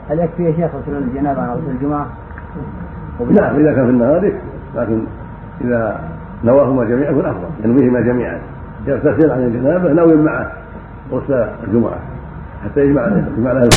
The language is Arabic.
هل يكفي يا شيخ غسل الجنابة عن غسل الجمعة؟ نعم إذا كان في النهار يكفي، لكن إذا نواهما جميعا يكون أفضل، ينويهما جميعا، يغتسل عن الجنابة ناوي معه غسل الجمعة حتى يجمع لها